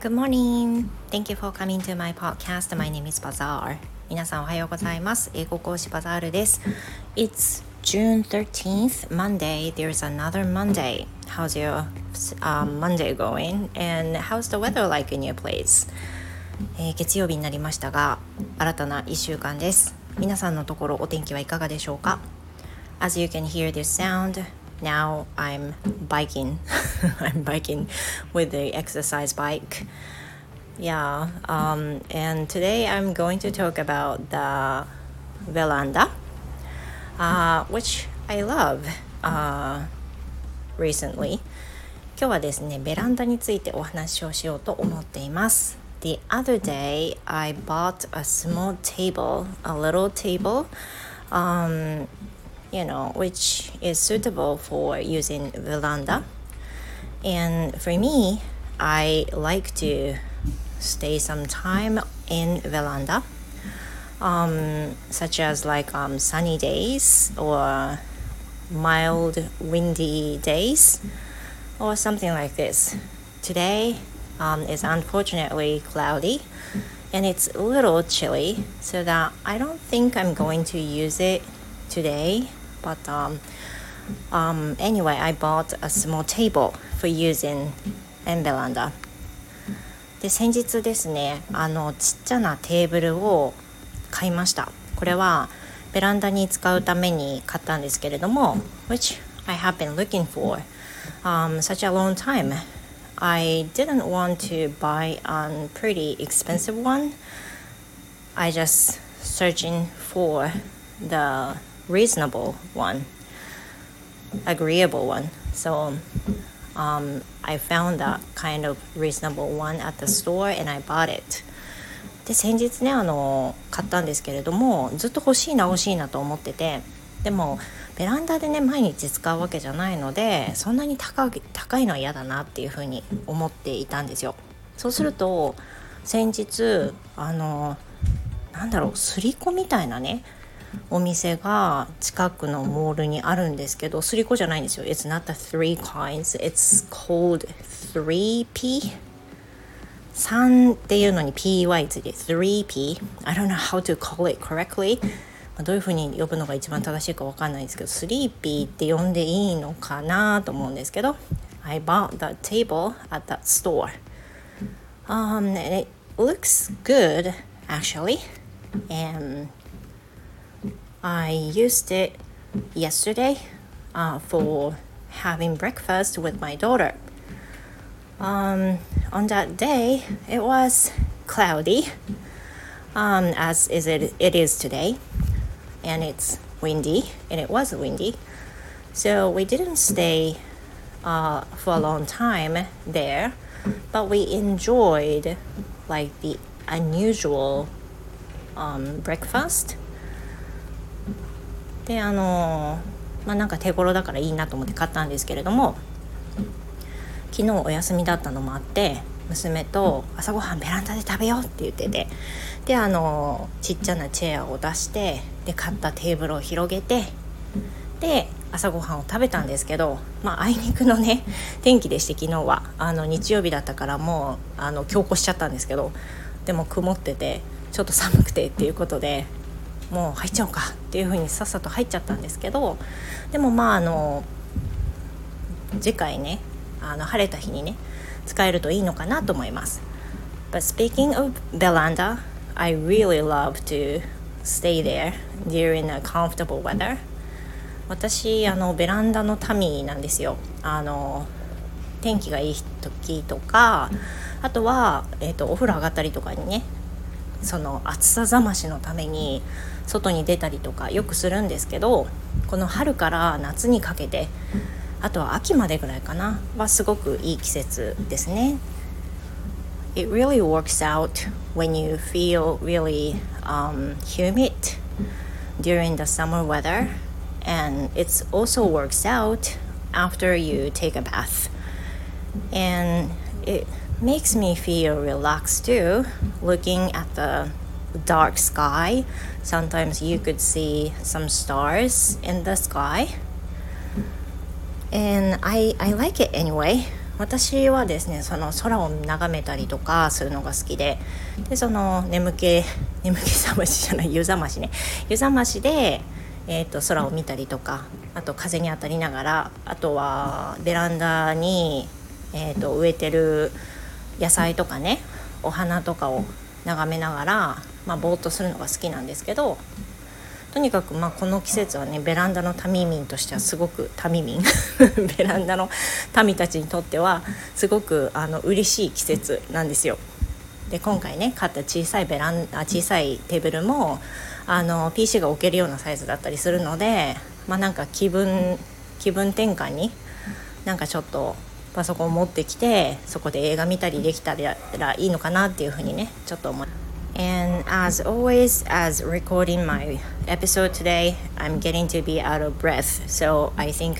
Good morning. Thank you for coming to my podcast. My name is Bazaar. 皆さんおはようございます。英語講師バザールです。It's June 13th, Monday. There's another Monday. How's your Monday going? And how's the weather like in your place? 月曜日になりましたが、新たな1週間です。皆さんのところお天気はいかがでしょうか？ As you can hear this sound,Now I'm biking. I'm biking with the exercise bike. Yeah, and today I'm going to talk about the veranda, which I love recently. 今日はですね、ベランダについてお話をしようと思っています。The other day, I bought a small table, a little table.which is suitable for using veranda. And for me, I like to stay some time in veranda, such as like sunny days or mild windy days or something like this. Today is unfortunately cloudy and it's a little chilly, so that I don't think I'm going to use it today.But anyway, I bought a small table for using in veranda. で、先日ですね、ちっちゃなテーブルを買いました。これはベランダに使うために買ったんですけれども、which I have been looking for such a long time. I didn't want to buy a pretty expensive one. I just searching for the reasonable one, agreeable one. So I found that kind of reasonable one at the store and I bought it. で、先日ね、買ったんですけれども、ずっと欲しいなと思ってて、でもベランダでね、毎日使うわけじゃないので、そんなに高いのは嫌だなっていうふうに思っていたんですよ。そうすると先日すりこみたいなね、お店が近くのモールにあるんですけど、すりこじゃないんですよ。 It's not the three coins, it's called 3P 3っていうのに PY ついて 3P I don't know how to call it correctly、どういうふうに呼ぶのが一番正しいか分かんないんですけど、 3P って呼んでいいのかなと思うんですけど、 I bought the table at that store. And it looks good actually, and I used it yesterday for having breakfast with my daughter. On that day, it was cloudy, as it is today, and it's windy, and it was windy. So we didn't stay for a long time there, but we enjoyed like the unusual breakfast.で、なんか手頃だからいいなと思って買ったんですけれども、昨日お休みだったのもあって、娘と朝ごはんベランダで食べようって言ってて、で、ちっちゃなチェアを出して、で、買ったテーブルを広げて、で、朝ごはんを食べたんですけど、あいにくのね、天気でして、昨日は日曜日だったからもう強行しちゃったんですけど、でも曇っててちょっと寒くてっていうことで、もう入っちゃおうかっていう風にさっさと入っちゃったんですけど、でも次回ね、晴れた日にね使えるといいのかなと思います。 But speaking of veranda, I really love to stay there during a comfortable weather. 私ベランダの民なんですよ。天気がいい時とか、あとは、お風呂上がったりとかにね、その暑さざましのために外に出たりとかよくするんですけど、この春から夏にかけて、あとは秋までぐらいかなはすごくいい季節ですね。 It really works out when you feel really humid during the summer weather, and it also works out after you take a bath, and it makes me feel relaxed too, looking at the dark sky. Sometimes you could see some stars in the sky, and I like it anyway. 私はですねその空を眺めたりとかするのが好きで、その眠気覚ましじゃない湯覚ましね、湯覚ましで、空を見たりとか、あと風に当たりながら、あとはベランダに、植えてる野菜とかね、お花とかを眺めながら、ぼーっとするのが好きなんですけど、とにかくこの季節はね、ベランダの民民としてはすごく民ベランダの民たちにとってはすごく嬉しい季節なんですよ。で今回ね買った小さいテーブルもPC が置けるようなサイズだったりするので、なんか気分転換になんかちょっとパソコン持ってきて、そこで映画見たりできたらいいのかなっていうふうにねちょっと思い。And as always, as recording my episode today, I'm getting to be out of breath, so I think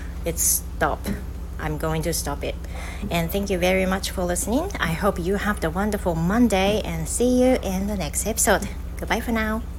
I'm going to stop it. And thank you very much for listening. I hope you have a wonderful Monday and see you in the next episode. Goodbye for now.